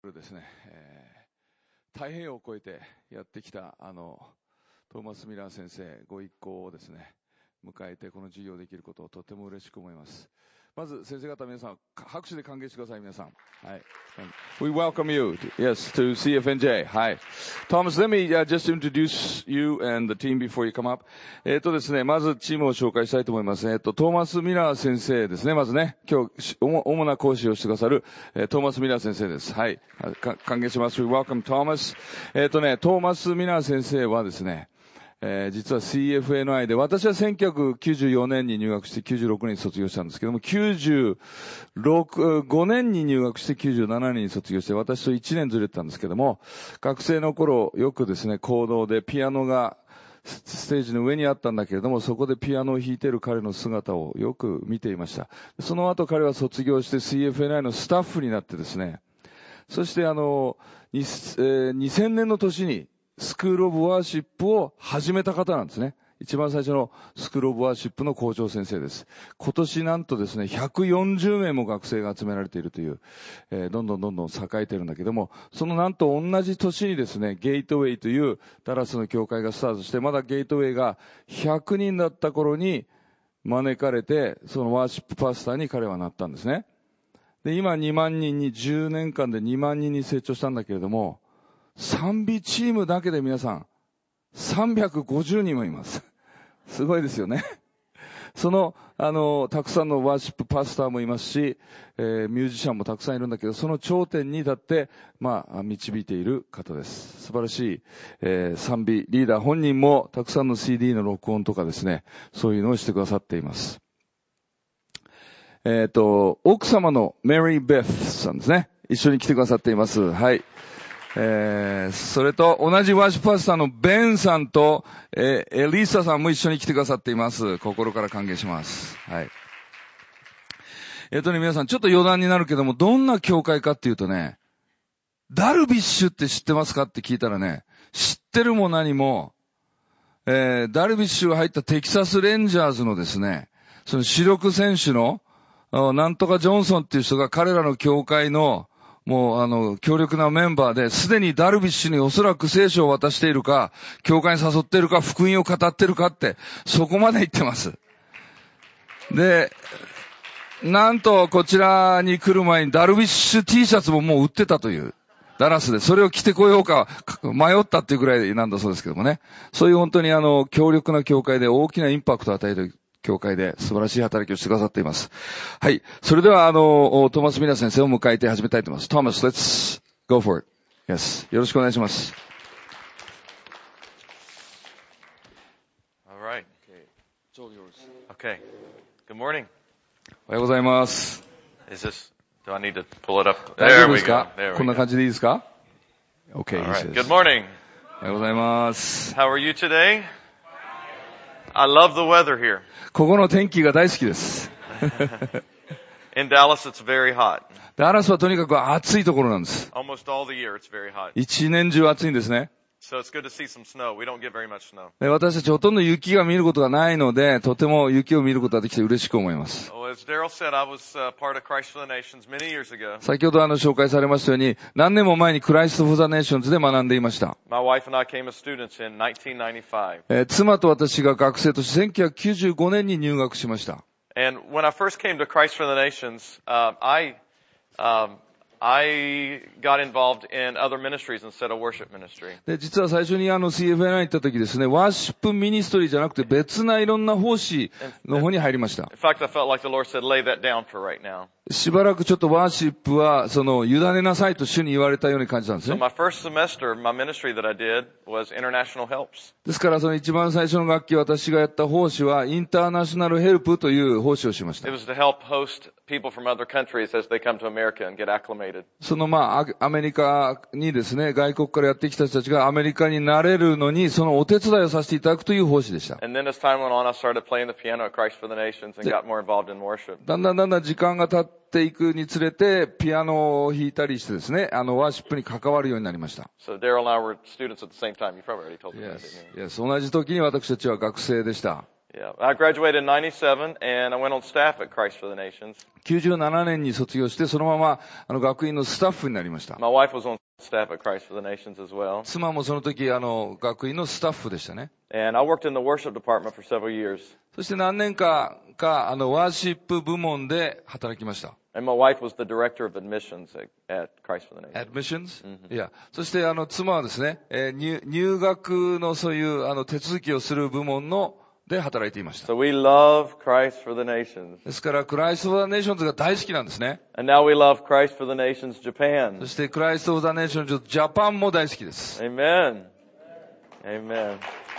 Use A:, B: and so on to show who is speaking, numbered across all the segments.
A: ですね、太平洋を越えてやってきたトーマス・ミラー先生ご一行をですね迎えてこの授業できることをとても嬉しく思います。まず先生方皆さん拍手で歓迎してください。皆さん、はい。We welcome you, yes, to CFNJ. はい。Thomas, let me just introduce you and the team before you come up. ですね、まずチームを紹介したいと思います。トーマス・ミラー先生ですね。まずね、今日主な講師をしてくださるトーマス・ミラー先生です。はい。歓迎します。We welcome Thomas. トーマス・ミラー先生はですね、実は CFNI で、私は1994年に入学して96年に卒業したんですけども、5年に入学して97年に卒業して、私と1年ずれてたんですけども、学生の頃よくですね、講堂でピアノがステージの上にあったんだけれども、そこでピアノを弾いている彼の姿をよく見ていました。その後彼は卒業して CFNI のスタッフになってですね、そして2000年の年にスクールオブワーシップを始めた方なんですね。一番最初のスクールオブワーシップの校長先生です。今年なんとですね、140名も学生が集められているという、どんどん栄えているんだけども、そのなんと同じ年にですね、ゲートウェイというダラスの教会がスタートして、まだゲートウェイが100人だった頃に招かれて、そのワーシップパスターに彼はなったんですね。で、今2万人に10年間で2万人に成長したんだけれども、賛美チームだけで皆さん、350人もいます。すごいですよね。その、たくさんのワーシップパスターもいますし、ミュージシャンもたくさんいるんだけど、その頂点に立って、導いている方です。素晴らしい、賛美リーダー本人もたくさんの CD の録音とかですね、そういうのをしてくださっています。奥様のメリー・ベスさんですね。一緒に来てくださっています。はい。それと同じワーシップパスターのベンさんと、エリーサさんも一緒に来てくださっています。心から歓迎します。はい。皆さんちょっと余談になるけども、どんな教会かっていうとね、ダルビッシュって知ってますかって聞いたらね、知ってるも何も、ダルビッシュが入ったテキサスレンジャーズのですね、その主力選手の、なんとかジョンソンっていう人が彼らの教会のもう強力なメンバーで、すでにダルビッシュにおそらく聖書を渡しているか、教会に誘っているか、福音を語っているかって、そこまで言ってます。で、なんとこちらに来る前にダルビッシュ T シャツももう売ってたという。ダラスで、それを着てこようか迷ったっていうくらいなんだそうですけどもね。そういう本当に強力な教会で大きなインパクトを与える教会で素晴らしい働きをしてくださっています。はい。それではトーマス・ミラー先生を迎えて始めたいと思います。Thomas, let's go for it. Yes. よろしくお願いします。
B: All right.
A: It's all yours.
B: Okay. Good morning.
A: おはようございます。
B: Do I need to pull it up?
A: 大丈夫
B: There
A: で
B: we
A: す
B: go.
A: か？
B: There
A: こん
B: we
A: な
B: go.
A: 感じでいいですか？ Okay.
B: All right.
A: He says.
B: Good morning.
A: おはようございます。
B: How are you today? I love the weather here.
A: ここの天気が大好きです。
B: In Dallas, it's very hot.
A: ダラスはとにかく暑いところなんです。
B: Almost all the year, it's very hot.
A: 一年中暑いんですね。
B: So it's good to see some snow. We don't get very much snow.
A: 私たちほとんど雪が見ることがないので、とても雪を見ることができて嬉しく思います。
B: Well, as Daryl said, I was part of Christ for the Nations many years ago.
A: 先ほど紹介されましたように、何年も前にクライスト・フォー・ザ・ネーションズで学んでいました。
B: My wife and I came as students in 1995.
A: 妻と私が学生として1995年に入学しました。
B: And when I first came to Christ for the Nations, I got involved in other ministries instead of worship ministry.
A: で、実は最初にCFNI 行った時ですね、ワーシップミニストリーじゃなくて別ないろんな奉仕の方に入りました。
B: In fact, I felt like the Lord said, lay that down for right now.
A: しばらくちょっとワーシップは、委ねなさいと主に言われたように感じたんです
B: So
A: ね。
B: my first semester, my ministry that I did was international helps.
A: ですからその一番最初の学期私がやった奉仕はインターナショナルヘルプという奉仕をしました。
B: It was to help host people from other countries as they come to America and get acclimated.
A: そのアメリカにですね、外国からやってきた人たちがアメリカになれるのに、そのお手伝いをさせていただくという奉仕でした。
B: And then as time went on, I started playing the piano at Christ for the Nations and got more involved in worship.
A: だんだん時間が経っていくにつれて、ピアノを弾いたりしてですね、ワーシップに関わるようになりました。
B: So Daryl and I were students at the same time. You probably already told me that, didn't you?
A: Yes. 同じ時に私たちは学生でした。
B: Yeah, I graduated in 97 and I went on staff at Christ for the Nations.
A: 97年に卒業して、そのまま学院のスタッフになりました。
B: My wife was on staff at Christ for the Nations as well.
A: 妻もその時学院のスタッフでしたね。
B: And I worked in the worship department for several years.
A: そして何年かワーシップ部門で働きました。
B: And my wife was the director of admissions at Christ for the Nations.
A: Admissions? いや、そして妻はですね、入学のそういう手続きをする部門で働いていました。
B: So we love Christ for the Nations.
A: ですから、クライスト・フォー・ザ・ネーションズが大好きなんですね。
B: And now we love Christ for the Nations Japan.
A: そして、クライスト・フォー・ザ・ネーションズ・ジャパンも大好きです。
B: Amen. Amen.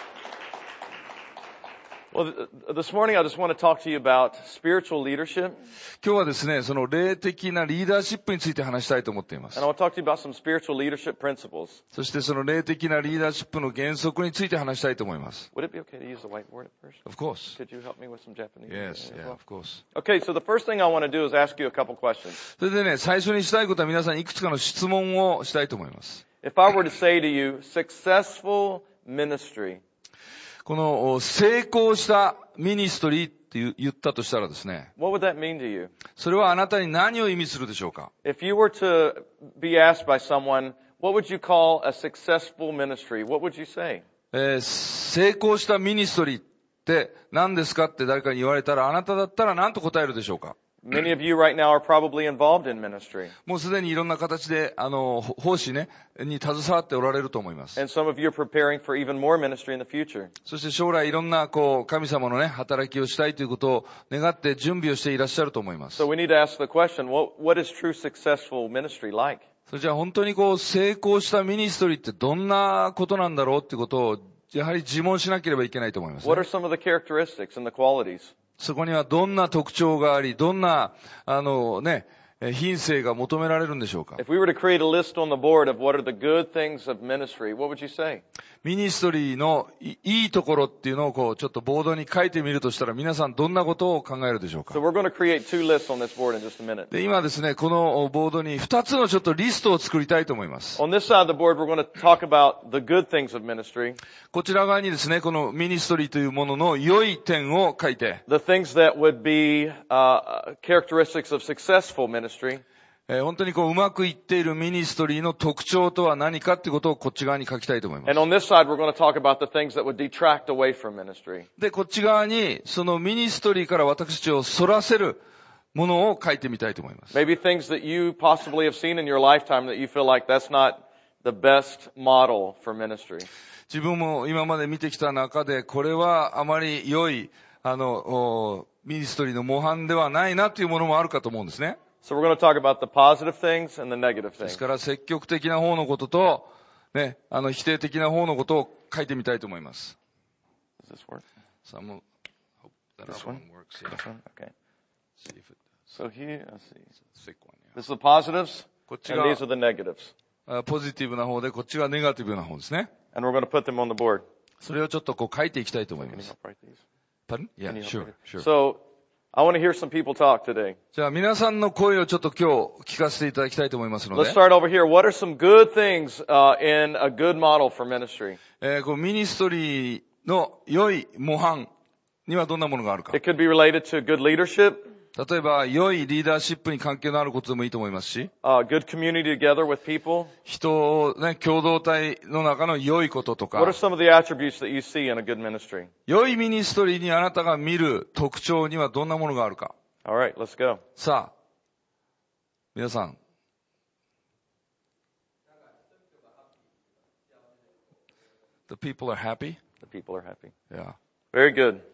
B: Well, this morning I just want to talk to you about spiritual leadership.
A: 今日はですね、その霊的なリーダーシップについて話したいと思っています。
B: And I want to talk to you about some spiritual leadership principles.
A: そしてその霊的なリーダーシップの原則について話したいと思います。
B: Would it be okay to use the whiteboard at first?
A: Of course.
B: Could you help me with some Japanese?
A: Yes, yeah, of course.
B: Okay, so the first thing I want to do is ask you a couple questions.
A: それでね、最初にしたいことは皆さんいくつかの質問をしたいと思います。
B: If I were to say to you, successful ministry.
A: この成功したミニストリーって言ったとしたらですね。
B: What would that mean to you?
A: それはあなたに何を意味するでしょうか？
B: If you were to be asked by someone, what would you call a successful ministry? What would you say?
A: 成功したミニストリーって何ですかって誰かに言われたら、あなただったら何と答えるでしょうか？
B: Many of you right now are probably involved in ministry.
A: もうすでにいろんな形で、奉仕ね、に携わっておられると思います。
B: And some of you are preparing for even more ministry in the future.
A: そして将来いろんな、神様のね、働きをしたいということを願って準備をしていらっしゃると思います。
B: So we need to ask the question, what is true successful ministry like?
A: それじゃあ本当に成功したミニストリーってどんなことなんだろうっていうことを、やはり自問しなければいけないと思います、ね。
B: What are some of the characteristics and the qualities?
A: そこにはどんな特徴があり、どんな、品性が求められるんでしょうか。
B: If we were to create a list on the board of what are the good things of ministry, what would you say?
A: ミニストリーのいいところっていうのをちょっとボードに書いてみるとしたら皆さんどんなことを考えるでしょうか。
B: So we're going to create two lists on this board in just a minute.
A: で、今ですね、このボードに2つのちょっとリストを作りたいと思います。
B: On this side of the board, we're going to talk about the good things of ministry.
A: こちら側にですね、このミニストリーというものの良い点を書いて、
B: The things that would be characteristics of successful ministry.
A: 本当にうまくいっているミニストリーの特徴とは何かってことをこっち側に書きたいと思います。
B: And on this side, we're going to talk about the things that would detract away from ministry.
A: で、こっち側にそのミニストリーから私たちを反らせるものを書いてみたいと思います。
B: Maybe things that you possibly have seen in your lifetime that you feel like that's not the best model for ministry.
A: 自分も今まで見てきた中で、これはあまり良い、ミニストリーの模範ではないなというものもあるかと思うんですね。
B: So we're going to talk about the positive things and the negative
A: で
B: things.
A: すから積極的な方のことと、ね、否定的な方のことを書いてみたいと思います。
B: Does this work?
A: Some hope that
B: This
A: one
B: one?
A: works. Yeah.
B: This one? Okay.
A: See if it
B: So here, let's see.
A: thick one.
B: This is the positives,
A: こっち
B: and
A: が
B: these are the negatives.
A: ポジティブな方で、こっちがネガティブな方ですね。
B: And we're going to put them on the board.
A: それをちょっと書いていきたいと思い
B: Can
A: ま
B: you
A: す。
B: help write these?
A: Pardon? Yeah,
B: Can you help
A: sure,
B: write
A: sure.
B: these? So I want to hear some people talk today.
A: じゃあ皆さんの声をちょっと今日聞かせていただきたいと思いますの
B: Let's
A: で、
B: start over here. What are some good things in a good model for ministry?
A: このミニストリーの良い模範にはどんなものがあるか。
B: It could be related to good leadership,
A: 例えば、良いリーダーシップに関係のあることでもいいと思いますし、
B: good community together with people.
A: 人をね、共同体の中の良いことと
B: What are
A: か、
B: some of the attributes that you see in a good ministry?
A: 良いミニストリーにあなたが見る特徴にはどんなものがあるか。
B: All right, let's go.
A: さあ、皆さん。The people are happy?
B: The people are happy.
A: Yeah.
B: Very good.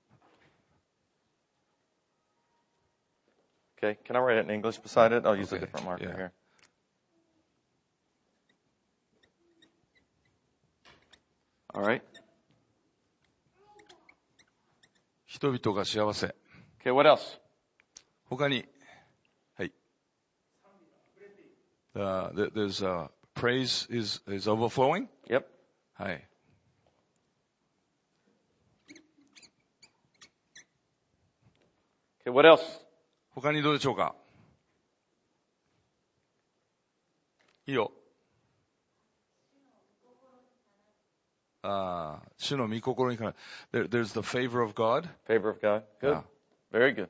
B: Okay, can I write it in English beside it? I'll use a
A: Okay,
B: different marker
A: yeah.
B: here. All right.
A: 人々が幸せ。
B: Okay, what else?
A: 他に、はい。There's praise is overflowing?
B: Yep.
A: はい。
B: Okay, what else?
A: 他にどうでしょうか？いいよ。 主の御心にかな。There's the favor of God.
B: Favor of God. Good.
A: Yeah.
B: Very good.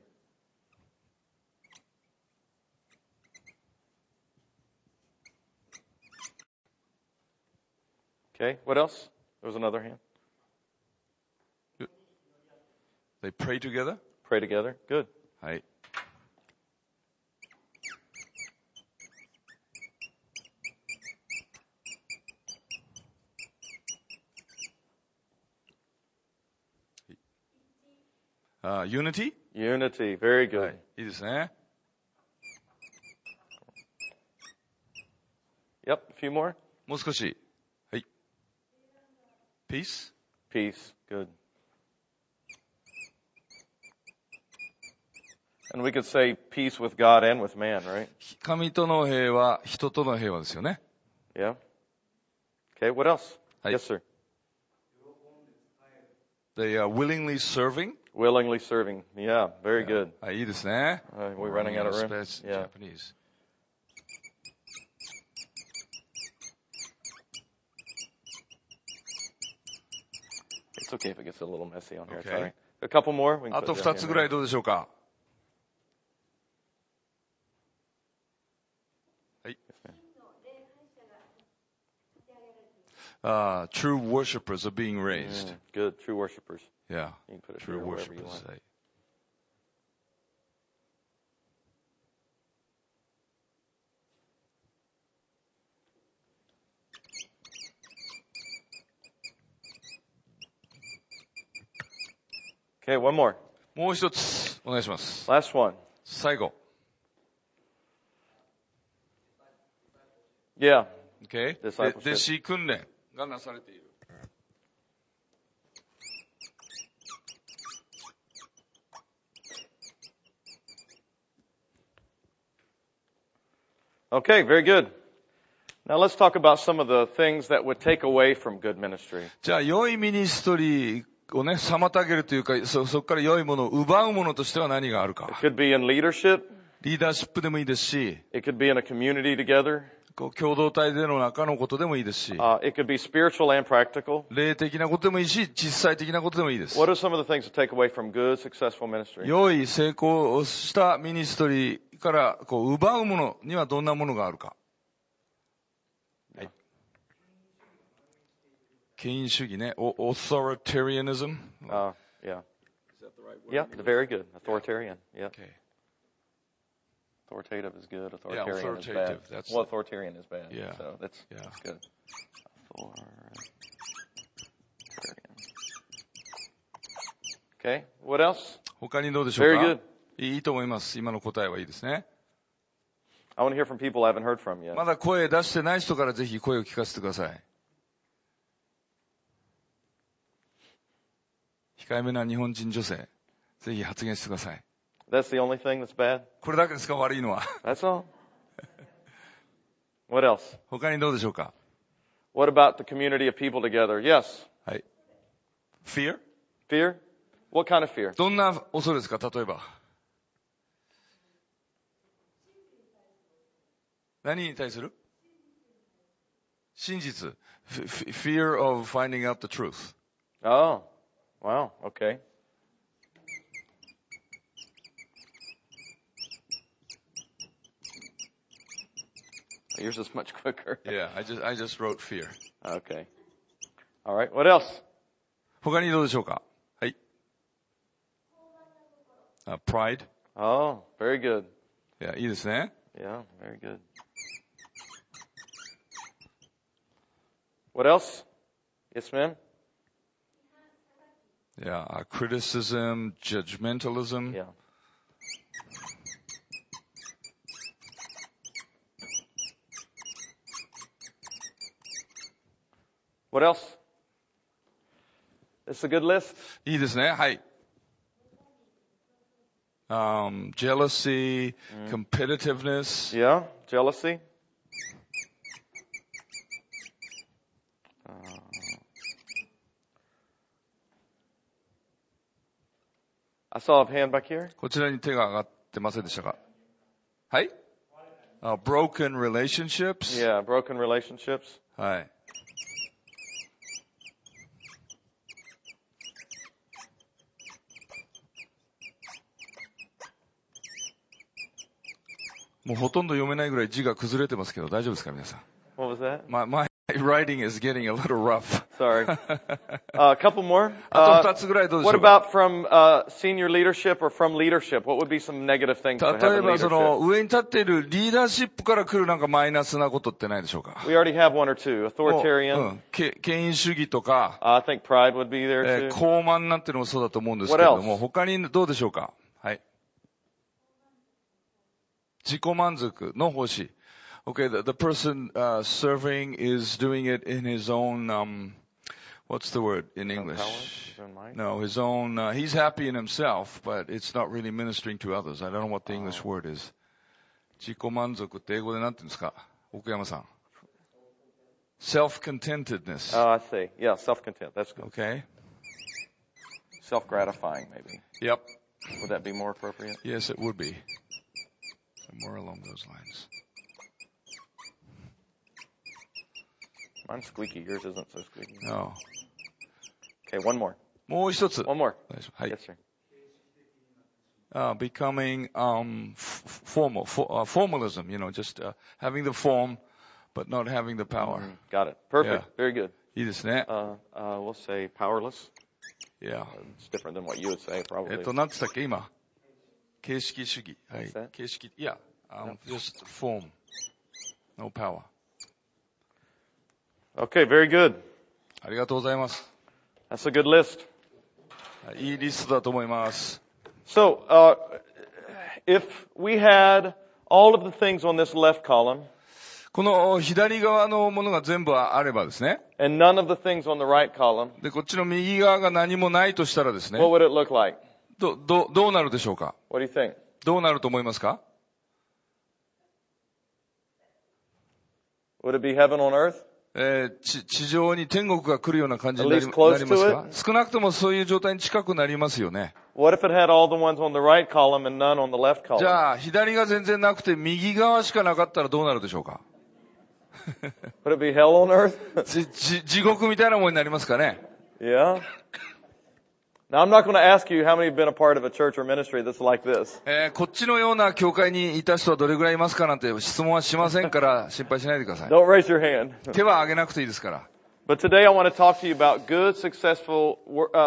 B: Okay, what else? There was another hand.
A: They pray together.
B: Pray together. Good.
A: はい。Unity?
B: Unity. Very
A: は
B: good.
A: い。いいですね。
B: Yep, a few more.
A: もう少し。はい。Peace?
B: Peace. Good. And we could say peace with God and with man, right?
A: 神との平和、人との平和ですよね。
B: Yeah. Okay, what else?
A: はい。
B: Yes, sir.
A: They are willingly serving.
B: Willingly serving. Yeah, very good.
A: はい、いいですね。
B: We're running out of room.
A: Space in
B: Yeah.
A: Japanese.
B: It's okay if it gets a little messy on here.
A: Okay.
B: Sorry. A couple more. We can
A: あ
B: put
A: と
B: down
A: 2
B: here
A: つぐら
B: now.
A: いどうでしょうか。はい。True worshipers are being raised.
B: Good. True worshipers.
A: Yeah.
B: You can put it
A: True
B: here wherever you
A: worshipers.
B: want.
A: はい。
B: Okay, one more.
A: もう一つ、お願いします。
B: Last one.
A: 最後。
B: Yeah.
A: Okay?
B: Discipleship.
A: 弟子訓練がなされている。
B: Okay, very good. Now let's talk about some of the things that would take away from good ministry.
A: じゃあ、良いミニストリーをね、妨げるというか、そこから良いものを奪うものとしては何があるか。
B: It could be in leadership.
A: リーダーシップでもいいですし、
B: It could be in a community together.
A: こう共同体での中のことでもいいですし、
B: It could be spiritual and practical.
A: 霊的なことでもいいし、実際的なことでもいいです。
B: What are some of the things to take away from good, successful ministry?
A: 良い成功したミニストリーからこう奪うものにはどんなものがあるか。はい。権威主義ね。authoritarianism.
B: Yeah. Yeah, very good. Authoritarian. Yeah.
A: Okay.
B: Authoritative is good.
A: Yeah,
B: Authoritarian is
A: authoritative.
B: bad.
A: That's
B: Well, authoritarian is bad.
A: Yeah.
B: So that's
A: Yeah.
B: good. Authoritarian. Okay. What else?
A: 他にどうでしょう
B: Very
A: か
B: good.
A: いいと思います。今の答えはいいですね。
B: I want to hear from people I haven't heard from yet.
A: まだ声出してない人からぜひ声を聞かせてください。控えめな日本人女性、ぜひ発言してください。
B: That's the only thing that's bad?
A: これだけですか、悪いのは。
B: That's all? What else?
A: 他にどうでしょうか。
B: What about the community of people together? Yes.
A: はい。Fear?
B: Fear? What kind of fear?
A: どんな恐れですか、例えば。何に対する？真実。Fear of finding out the truth.
B: Oh, wow. Okay. Yours is much quicker.
A: Yeah, I just wrote fear.
B: Okay. All right. What else?
A: 他にどうでしょうか。はい。Pride.
B: Oh, very good.
A: いや、いいですね。
B: Yeah, very good. What else? Yes, ma'am?
A: Yeah, criticism, judgmentalism.
B: Yeah. What else? It's a good list.
A: いいですね。はい。Jealousy, competitiveness.
B: Yeah, jealousy. I saw a hand back here.
A: こちらに手が上がってませんでしたか。はい。broken relationships.
B: Yeah, broken relationships.
A: はい。 もうほとんど読めないぐらい字が崩れてますけど、大丈夫ですか皆さん。
B: What was that?
A: My writing is getting a little rough.
B: Sorry. A couple more.
A: あと2つぐらいどうでしょ
B: What
A: うか。
B: about from senior leadership or from leadership? What would be some negative things to have
A: 例え
B: in
A: ばその
B: leadership?
A: 上に立っているリーダーシップから来るなんかマイナスなことってないでしょうか。
B: We already have one or two.
A: もう
B: Authoritarian.
A: 権威主義とか、
B: I think pride would be there too.
A: 高慢なんていうのもそうだと思うんですけれども、
B: What else?
A: 他にどうでしょうか。はい。自己満足の奉仕。Okay, the person serving is doing it in his own, what's the word in English?
B: His own might?
A: No, his own, he's happy in himself, but it's not really ministering to others. I don't know what the English word is. 自己満足って英語で何て言うんですか奥山さん。Self-contentedness.
B: Oh, I see. Yeah, self-content. That's good.
A: Okay?
B: Self-gratifying, maybe.
A: Yep.
B: Would that be more appropriate?
A: Yes, it would be. Somewhere along those lines.
B: Mine's squeaky. Yours isn't so squeaky.
A: No.
B: Okay, one more.
A: もう一つ。
B: One more.
A: はい。
B: Yes, sir.
A: Becoming formalism, just having the form, but not having the power.
B: Got it. Perfect.
A: Yeah.
B: Very good.
A: いいですね。
B: We'll say powerless.
A: Yeah.
B: It's different than what you would say, probably.
A: 何つったっけ今。形式主義。はい
B: What's that?。
A: 形式。Yeah. Just form. No power.
B: Okay, very good.
A: ありがとうございます。
B: That's a good list.
A: いいリストだと思います。
B: So, if we had all of the things on this left column
A: この左側のものが全部あればですね。
B: and none of the things on the right column,
A: で、こっちの右側が何もないとしたらですね。
B: what would it look like?
A: どうなるでしょうか。
B: What do you think?
A: どうなると思いますか。
B: Would it be heaven on earth?
A: 地上に天国が来るような感じになり
B: At
A: ま
B: least
A: す
B: close
A: か。
B: to it?
A: 少なくともそういう状態に近くなりますよね。
B: What if it had all the ones on the right column and none on the left
A: じ
B: column?
A: ゃあ、左が全然なくて右側しかなかったらどうなるでしょうか。
B: Would it be hell on earth?
A: 地獄みたいなものになりますかね。
B: Yeah. Now, I'm not going to ask you how many have been a part of a church or ministry that's like this.
A: こっちのような教会にいた人はどれぐらいいますかなんて質問はしませんから心配しないでください。
B: Don't raise your hand.
A: 手は挙げなくていいですから。
B: But today I want to talk to you about good, successful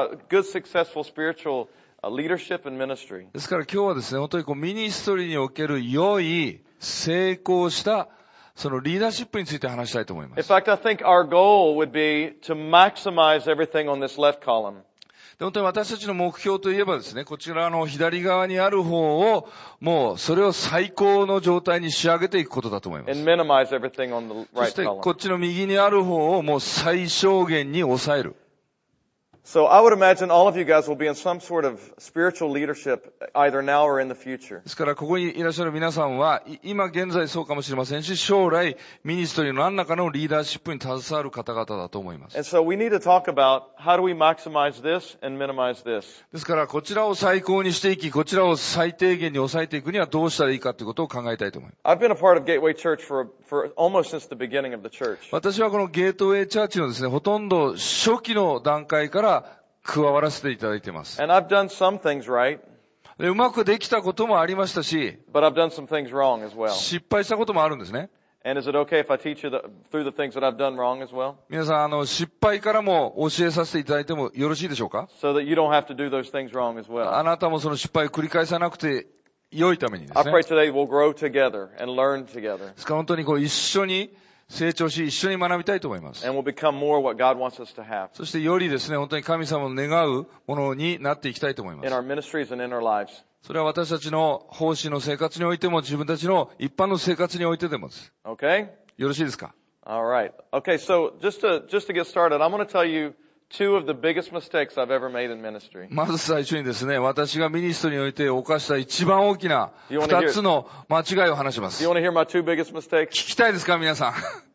B: spiritual leadership and ministry.
A: ですから今日はですね、本当にミニストリーにおける良い、成功したそのリーダーシップについて話したいと思いま
B: In
A: す。
B: fact, I think our goal would be to maximize everything on this left column.
A: で本当に私たちの目標といえばですね、こちらの左側にある方を、もうそれを最高の状態に仕上げていくことだと思います。
B: And minimize everything on the
A: そ
B: right
A: してこ
B: column.
A: っちの右にある方をもう最小限に抑える。
B: So I would imagine all of you guys will be in some sort of spiritual leadership either now or in the future.
A: ですからここにいらっしゃる皆さんは、今現在そうかもしれませんし、将来ミニストリーの何らかのリーダーシップに携わる方々だと思います。
B: And so we need to talk about how do we maximize this and minimize this.
A: ですからこちらを最高にしていき、こちらを最低限に抑えていくにはどうしたらいいかということを考えたいと思います。
B: I've been a part of Gateway Church for almost since the beginning of the church.
A: 私はこのゲートウェイチャーチのですね、ほとんど初期の段階から加わらせていただいています。
B: And I've done some things right,
A: でうまくできたこともありましたし、
B: but I've done some things wrong as well.
A: 失敗したこともあるんですね。
B: And is it okay if I teach you through the things that I've done wrong as well?
A: 皆さん、失敗からも教えさせていただいてもよろしいでしょうか？
B: So that you don't have to do those things wrong as
A: あ
B: well.
A: なたもその失敗を繰り返さなくて良いためにです
B: I
A: ね。
B: pray today we'll grow together and learn together.
A: ですから本当に一緒に成長し、一緒に学びたいと思います。
B: And we'll become more what God wants us to have
A: そしてよりですね、本当に神様の願うものになっていきたいと思いま
B: in
A: す。
B: our ministries and in our lives.
A: それは私たちの奉仕の生活においても、自分たちの一般の生活においてでもです。
B: Okay?
A: よろしいですか？
B: All right. Okay, so just to get started, I'm going to tell you two of the biggest mistakes I've ever made in ministry.
A: まず最初にですね、私がミニストにおいて犯した一番大きな
B: You wanna hear-
A: 二つの間違いを話しま
B: Do
A: す。
B: you
A: 聞
B: want to hear my two biggest mistakes?
A: きたいですか皆さん。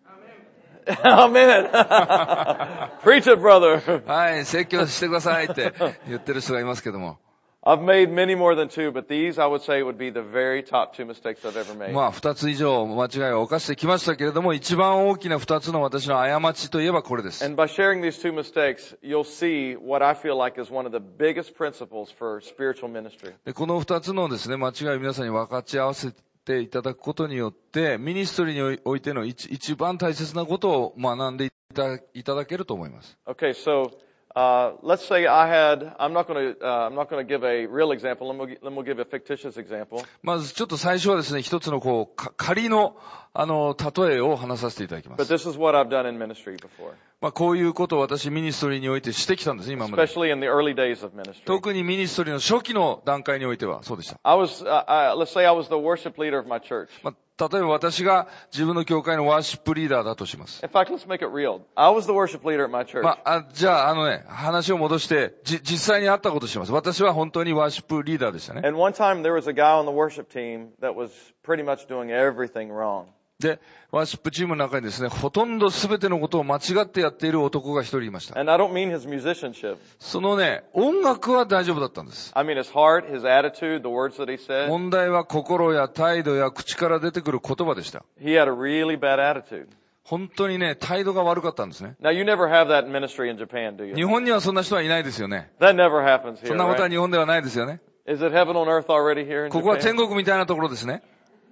B: Amen. Preach it, brother.
A: はい、説教してくださいって言ってる人がいますけども。
B: I've made many more than two, but these I would say would be the very top two mistakes I've ever made.
A: まあ、二つ以上間違いを犯してきましたけれども、一番大きな二つの私の過ちといえばこれです。
B: And by sharing these two mistakes, you'll see what I feel like is one of the biggest principles for spiritual ministry.
A: でこの二つのですね、間違いを皆さんに分かち合わせっていただくことによって、ミニストリーにおいての一番大切なことを学んでいただけると思います。
B: Okay, so let's say I'm not going to give a real example. Let me give a fictitious example.
A: まずちょっと最初はですね、一つの仮の例えを話させていただきま
B: But
A: す。
B: this is what I've done in ministry before,
A: こういうことを私ミニストリーにおいてしてきたんです、今まで。
B: especially in the early days of ministry.
A: 特にミニストリーの初期の段階においてはそうでした。
B: Let's say I was the worship leader of my church.
A: 例えば私が自分の教会のワーシップリーダーだとします。
B: In fact, let's make it real. I was the worship leader at my church.
A: じゃあ話を戻して、実際にあったことをします。私は本当にワーシップリーダーでしたね。
B: And one time there was a guy on the worship team that was pretty much doing everything wrong.
A: で、ワーシップチームの中にですね、ほとんど全てのことを間違ってやっている男が一人いました。
B: And I don't mean his musicianship.
A: そのね、音楽は大丈夫だったんです。
B: I mean his heart, his attitude, the words that he said.
A: 問題は心や態度や口から出てくる言葉でした。
B: He had a really bad attitude.
A: 本当にね、態度が悪かったんですね。
B: Now you never have that in ministry in Japan, do you?
A: 日本にはそんな人はいないですよね。
B: That never happens
A: そ
B: here,
A: んなことは
B: right?
A: 日本ではないですよね。
B: Is it heaven on earth already here in
A: ここは天
B: Japan?
A: 国みたいなところですね。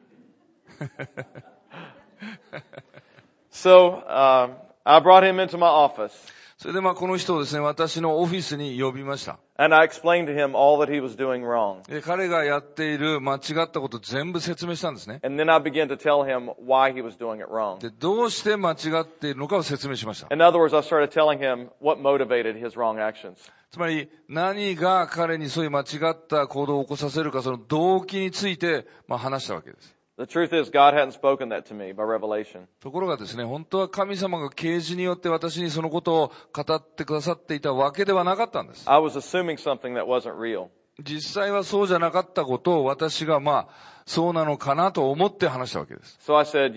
B: So, I brought him into my office.
A: それでこの人をですね、私のオフィスに呼びました。
B: And I explained to him all that he was doing wrong.
A: で、彼がやっている間違ったことを全部説明したんですね。
B: And then I began to tell him why he was doing it wrong.
A: で、どうして間違っているのかを説明しました。
B: In other words, I started telling him what motivated his wrong actions.
A: つまり、何が彼にそういう間違った行動を起こさせるか、その動機について、話したわけです。
B: The truth is, God hadn't spoken that to me by revelation.
A: ところがですね、本当は神様が啓示によって私にそのことを語ってくださっていたわけではなかったんです。
B: I was assuming something that wasn't real.
A: 実際はそうじゃなかったことを私がそうなのかなと思って話したわけです。
B: So I said,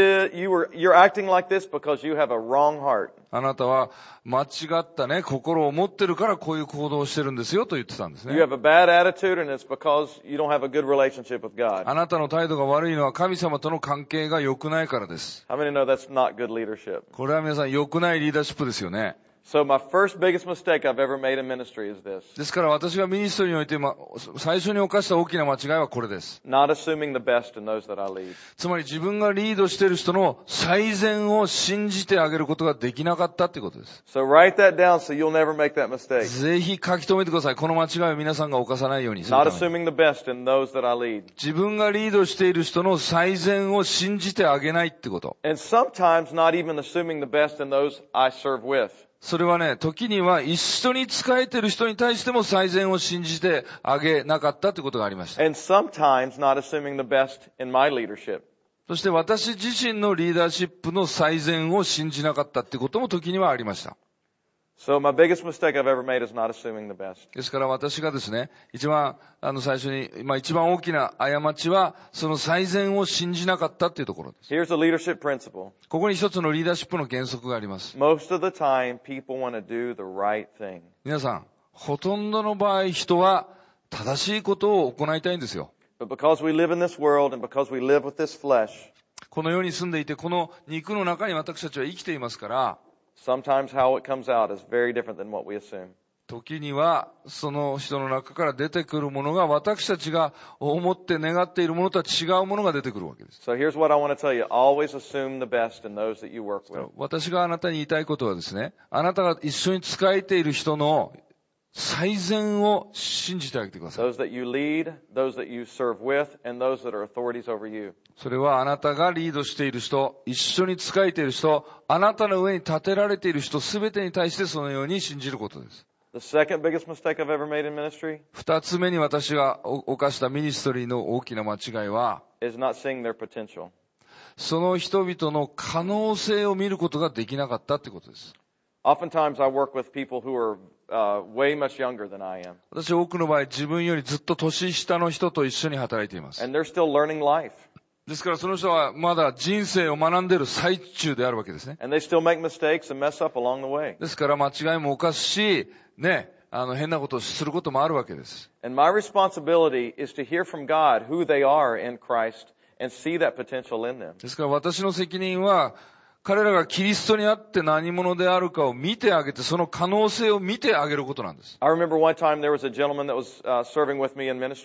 B: you're acting like this because you have a wrong heart.
A: あなたは間違ったね、心を持ってるからこういう行動をしてるんですよと言ってたんですね。
B: You have a bad attitude and it's because you don't have a good relationship with God.
A: あなたの態度が悪いのは神様との関係が良くないからです。
B: How many know that's not good leadership?
A: これは皆さん良くないリーダーシップですよね。
B: So my first biggest mistake I've ever made in ministry is this.
A: ですから私がミニストリーにおいて最初に犯した大きな間違いはこれです。
B: Not assuming the best in those that I lead.
A: つまり自分がリードしている人の最善を信じてあげることができなかったってことです。
B: So write that down so you'll never make that mistake.
A: ぜひ書き留めてください。この間違いを皆さんが犯さないようにする
B: Not
A: ために。
B: assuming the best in those that I lead.
A: 自分がリードしている人の最善を信じてあげないってこと。
B: And sometimes not even assuming the best in those I serve with.
A: それはね、時には一緒に仕えている人に対しても最善を信じてあげなかったということがありました。
B: And sometimes not assuming the best in my leadership.
A: そして私自身のリーダーシップの最善を信じなかったっていうことも時にはありました。
B: So my biggest mistake I've ever made is not assuming the best.
A: ですから私がですね、一番最初に、一番大きな過ちは、その最善を信じなかったっていうところです。
B: Here's a leadership principle.
A: ここに一つのリーダーシップの原則があります。
B: Most of the time, people want to do the right thing.
A: 皆さん、ほとんどの場合人は正しいことを行いたいんですよ。
B: But because we live in this world and because we live with this flesh,
A: この世に住んでいて、この肉の中に私たちは生きていますから、
B: sometimes how it comes out is very different than what we assume.
A: 時にはその人の中から出てくるものが私たちが思って願っているものとは違うものが出てくるわけです。
B: So here's what I want to tell you. Always assume the best in those that you work with.
A: 私があなたに言いたいことはですね、あなたが一緒に仕えている人の最善を信じてあげてください。
B: Those that you lead, those that you serve with, and those that are authorities over you.
A: それはあなたがリードしている人、一緒に仕えている人、あなたの上に立てられている人すべてに対してそのように信じることです。
B: The second biggest mistake I've ever made in ministry
A: 二つ目に私が犯したミニストリーの大きな間違いは、
B: is not seeing their potential.
A: その人々の可能性を見ることができなかったってことです。
B: Oftentimes I work with people who are way much younger than I am.
A: 私多くの場合自分よりずっと年下の人と一緒に働いています。
B: And they're still learning life.
A: ですからその人はまだ人生を学んでいる最中であるわけですね。
B: And they still make mistakes and mess up along the way.
A: ですから間違いも犯すし、ね、変なことをすることもあるわけです。
B: And my responsibility is to hear from God who they are in Christ and see that potential in them.
A: ですから私の責任は、彼らがキリストにあって何者であるかを見てあげて、その可能性を見てあげることなんです。
B: I remember one time there was a gentleman that was serving with me in ministry.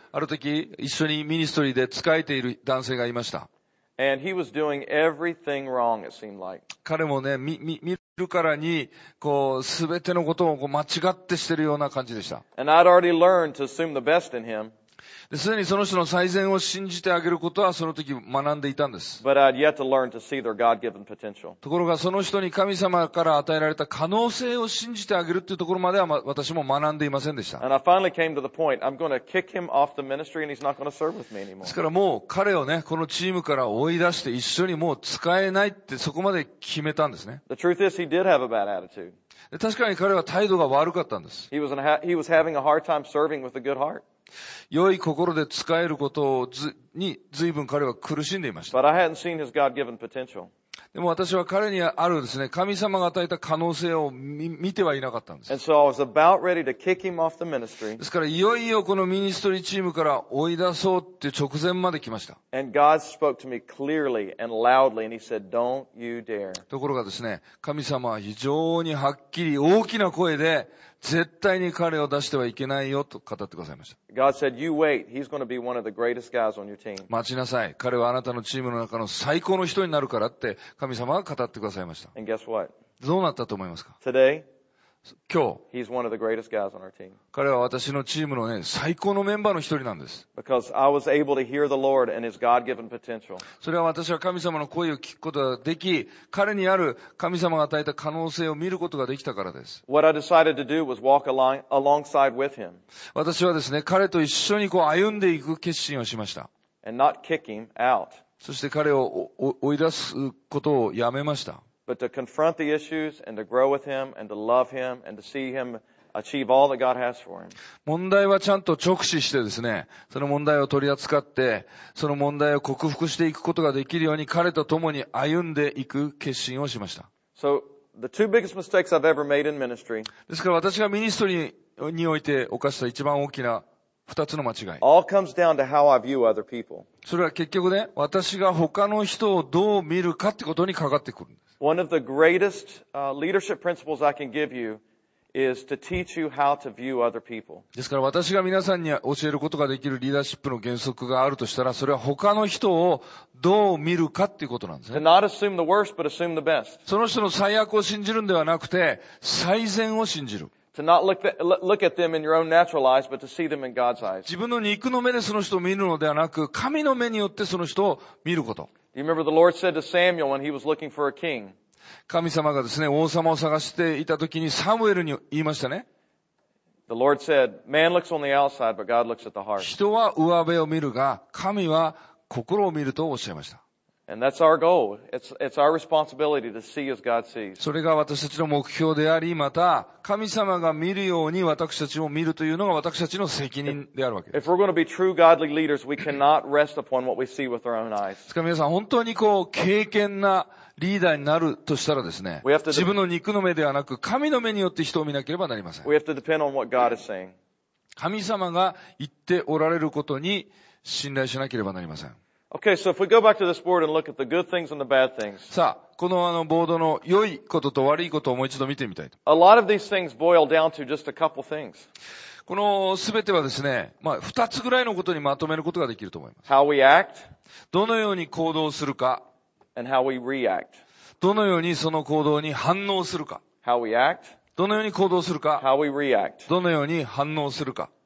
A: ある時、一緒にミニストリーで仕えている男性がいました。
B: And he was doing everything wrong, it seemed like.
A: 彼もね、見るからに、すべてのことを間違ってしてるような感じでした。
B: And I'd already learned to assume the best in him.
A: すでにその人の最善を信じてあげることはその時学んでいたんです。
B: But I'd yet to learn to see their God-given potential.
A: ところがその人に神様から与えられた可能性を信じてあげるというところまでは私も学んでいませんでした。
B: And I finally came to the point, I'm going to kick him off the ministry and he's not going to serve with me
A: で
B: anymore.
A: すからもう彼をね、このチームから追い出して一緒にもう使えないってそこまで決めたんですね。
B: The truth is he did have a bad attitude.
A: で確かに彼は態度が悪かったんです。
B: He was having a hard time serving with a good heart.
A: 良い心で使えることに随分彼は苦しんでいました。
B: But I hadn't seen his God-given potential.
A: でも私は彼にあるですね、神様が与えた可能性を見てはいなかったんです。
B: And so I was about ready to kick him off the ministry.
A: ですからいよいよこのミニストリーチームから追い出そうって直前まで来ました。
B: And God spoke to me clearly and loudly and he said, "Don't you dare."
A: ところがですね、神様は非常にはっきり大きな声で絶対に彼を出してはいけないよと語ってくださいました。
B: God said, "You wait. He's going to be one of the greatest guys on your team."
A: 待ちなさい。彼はあなたのチームの中の最高の人になるからって神様が語ってくださいました。
B: And guess what?
A: どうなったと思いますか？
B: Today,
A: 今日、
B: he's one of the greatest guys on our team.
A: 彼は私のチームのね、最高のメンバーの一人なんです。
B: Because I was able to hear the Lord and his God-given potential.
A: それは私は神様の声を聞くことができ、彼にある神様が与えた可能性を見ることができたからです。
B: What I decided to do was walk alongside with him
A: 私はですね、彼と一緒に歩んでいく決心をしました。
B: and not kick him out,
A: そして彼を追い出すことをやめました。
B: but to confront the issues and to grow with him and to love him and to see him achieve all that God has for him.
A: 問題はちゃんと直視してですね、その問題を取り扱って、その問題を克服していくことができるように彼と共に歩んでいく決心をしました。
B: So the two biggest mistakes I've ever made in ministry
A: ですから私がミニストリーにおいて犯した一番大きな二つの間違い。
B: all comes down to how I view other people.
A: それは結局ね、私が他の人をどう見るかってことにかかってくるんです。
B: One of the greatest leadership principles I can give you is to teach you how to view other people.
A: ですから私が皆さんに教えることができるリーダーシップの原則があるとしたら、それは他の人をどう見るかっていうことなんです
B: To
A: ね。
B: not assume the worst, but assume the best.
A: その人の最悪を信じるんではなくて、最善を信じる。
B: To not look at them in your own natural eyes, but to see them in God's eyes.
A: 自分の肉の目でその人を見るのではなく、神の目によってその人を見ること。
B: Do you remember the Lord said to Samuel when he was looking for a king?
A: 神様がですね、王様を探していた時にサムエルに言いましたね。
B: The Lord said, "Man looks on the outside, but God looks at the heart."
A: 人は上辺を見るが、神は心を見るとおっしゃいました。
B: And that's our goal. It's our responsibility to see as God sees.
A: それが私たちの目標であり、また、神様が見るように私たちを見るというのが私たちの責任であるわけです。
B: If we're going to be true godly leaders, we cannot rest upon what we see with our own eyes.
A: ですから皆さん、本当に敬虔なリーダーになるとしたらですね、
B: We have to-
A: 自分の肉の目ではなく、神の目によって人を見なければなりません。
B: We have to depend on what God is saying.
A: 神様が言っておられることに信頼しなければなりません。
B: Okay, so if we go back to this board and look at the good things and the bad things,
A: さあ、このボードの良いことと悪いことをもう一度見てみたいと。
B: a lot of these things boil down to just a couple things.
A: このすべてはですね、二つぐらいのことにまとめることができると思います。
B: How we act
A: どのように行動するか、
B: and how we react.
A: どのようにその行動に反応するか、
B: How we act,
A: どのように行動するか、
B: how we react.
A: どのように反応するか。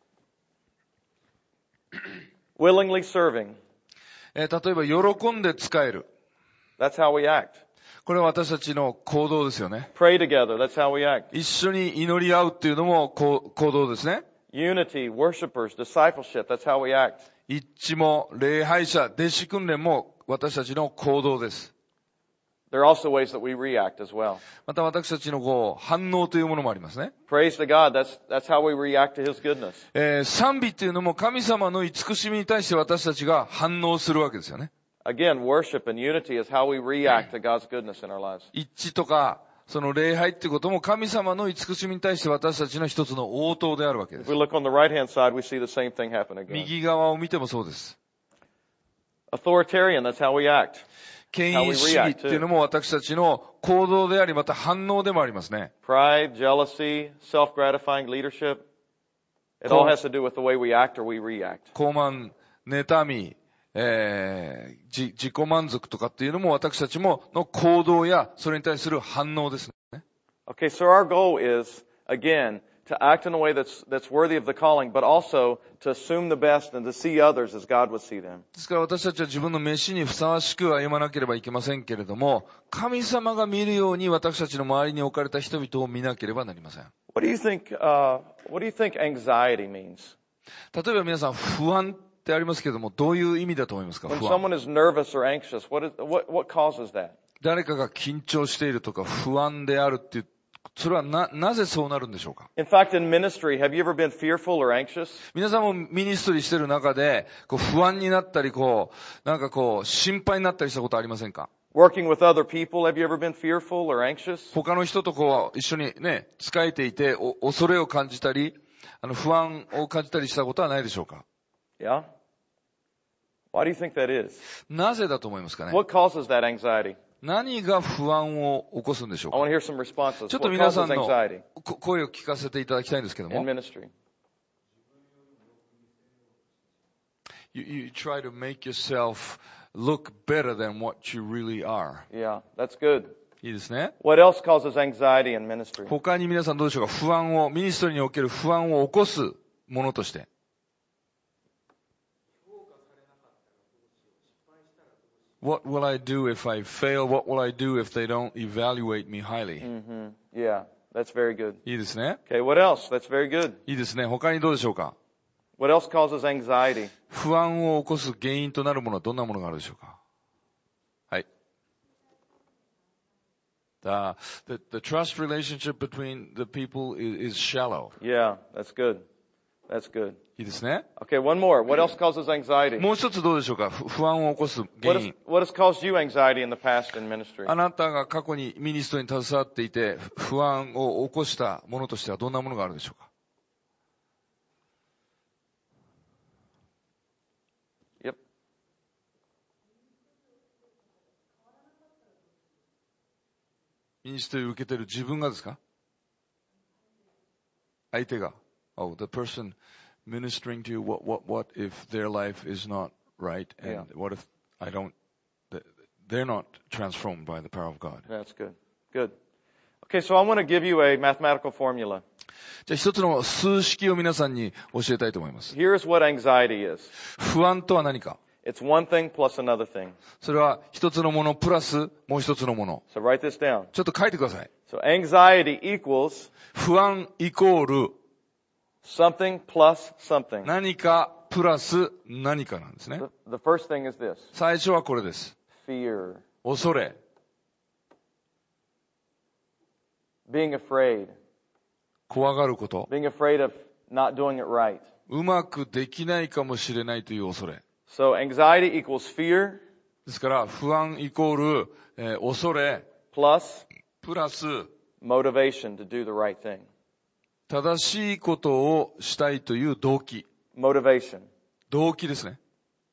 B: Willingly serving.
A: 例えば、喜んで使える。
B: That's how we act.
A: これは私たちの行動ですよね。
B: Pray together. That's how we act.
A: 一緒に祈り合うっていうのも行動ですね。
B: Unity, worshipers, discipleship. That's how we act.
A: 一致も礼拝者、弟子訓練も私たちの行動です。
B: There are also ways that we react as well.
A: また私たちの反応というものもありますね。
B: Praise to God. That's how we react to His goodness.
A: 賛美っていうのも神様の慈しみに対して私たちが反応するわけですよね。
B: Again, worship and unity is how we react to God's goodness in our lives.
A: 一致とか、その礼拝っていうことも神様の慈しみに対して私たちの一つの応答であるわけで
B: If
A: す。
B: we look on the right-hand side, we see the same thing happen again.
A: 右側を見てもそうです。
B: Authoritarian, that's how we act.
A: 権威主義っていうのも私たちの行動であり、また反応でもありますね。
B: Pride, jealousy, self-gratifying leadership. It all has to do with the way we act or we react.
A: 傲慢、妬み、自己満足とかっていうのも私たちもの行動やそれに対する反応ですね。
B: Okay, so our goal is, again, to act in a way that's worthy of the calling, but also to assume the best and to see others as God would see them.
A: ですから私たちは自分の飯にふさわしく歩まなければいけませんけれども、神様が見るように私たちの周りに置かれた人々を見なければなりません。
B: What do you think anxiety means?
A: 例えば皆さん不安ってありますけれども、どういう意味だと思いますか？
B: When
A: 不安。
B: someone is nervous or anxious, what causes that?
A: 誰かが緊張しているとか不安であるっていう、それはなぜそうなるんでしょうか？
B: In fact, in ministry, have you ever been fearful or anxious?
A: 皆さんもミニストリーしてる中で、不安になったり、心配になったりしたことありませんか？
B: Working with other people, have you ever been fearful or anxious?
A: 他の人と一緒にね、仕えていて、恐れを感じたり、不安を感じたりしたことはないでしょうか？
B: Yeah? Why do you think that is?
A: なぜだと思いますかね？
B: What causes that anxiety?
A: 何が不安を起こすんでしょう
B: I
A: か？
B: want to hear some responses.
A: ちょっと
B: What
A: 皆さ
B: causes
A: んの
B: anxiety
A: 声を聞かせていただきたいんですけど
B: in
A: も。
B: ministry?
A: You try to make yourself look better than what you really are.
B: Yeah, that's good.
A: いいですね。
B: What else causes anxiety in ministry?
A: 他に皆さんどうでしょうか？ミニストリーにおける不安を起こすものとして。What will I do if I fail? What will I do if they don't evaluate me highly?
B: Mm-hmm. Yeah, that's very good.
A: いいですね。
B: Okay, what else? That's very good.
A: いいですね。他にどうでしょうか？
B: What else causes anxiety?
A: 不安を起こす原因となるものはどんなものがあるでしょうか？はい。The trust relationship between the people is shallow.
B: Yeah, that's good. That's good.
A: いいですね。
B: Okay, one more. What else causes anxiety?
A: もう一つどうでしょうか？不安を起こす原因。
B: What has caused you anxiety in the past in ministry?
A: あなたが過去にミニストに携わっていて不安を起こしたものとしてはどんなものがあるでしょうか？
B: Yep.
A: ミニストを受けている自分がですか？相手が。Oh, the person ministering to you, what if their life is not right? And what if they're not transformed by the power of God?
B: That's good. Good. Okay, so I want to give you a mathematical formula.
A: じゃあ一つの数式を皆さんに教えたいと思います。
B: Here's what anxiety is.
A: 不安とは何か？
B: It's one thing plus another thing.
A: それは一つのものプラスもう一つのもの。
B: So write this down.
A: ちょっと書いてください。
B: So anxiety equals
A: 不安イコール
B: something plus something.
A: 何かプラス何かなんですね。
B: The first thing is this.
A: 最初はこれです。
B: Fear.
A: 恐れ。
B: Being afraid.
A: 怖がること。
B: Being afraid of not doing it right.
A: うまくできないかもしれないという恐れ。
B: So anxiety equals fear
A: ですから不安イコール、恐れ
B: plus
A: プラス
B: motivation to do the right thing.
A: 正しいことをしたいという動機。
B: Motivation.
A: 動機ですね。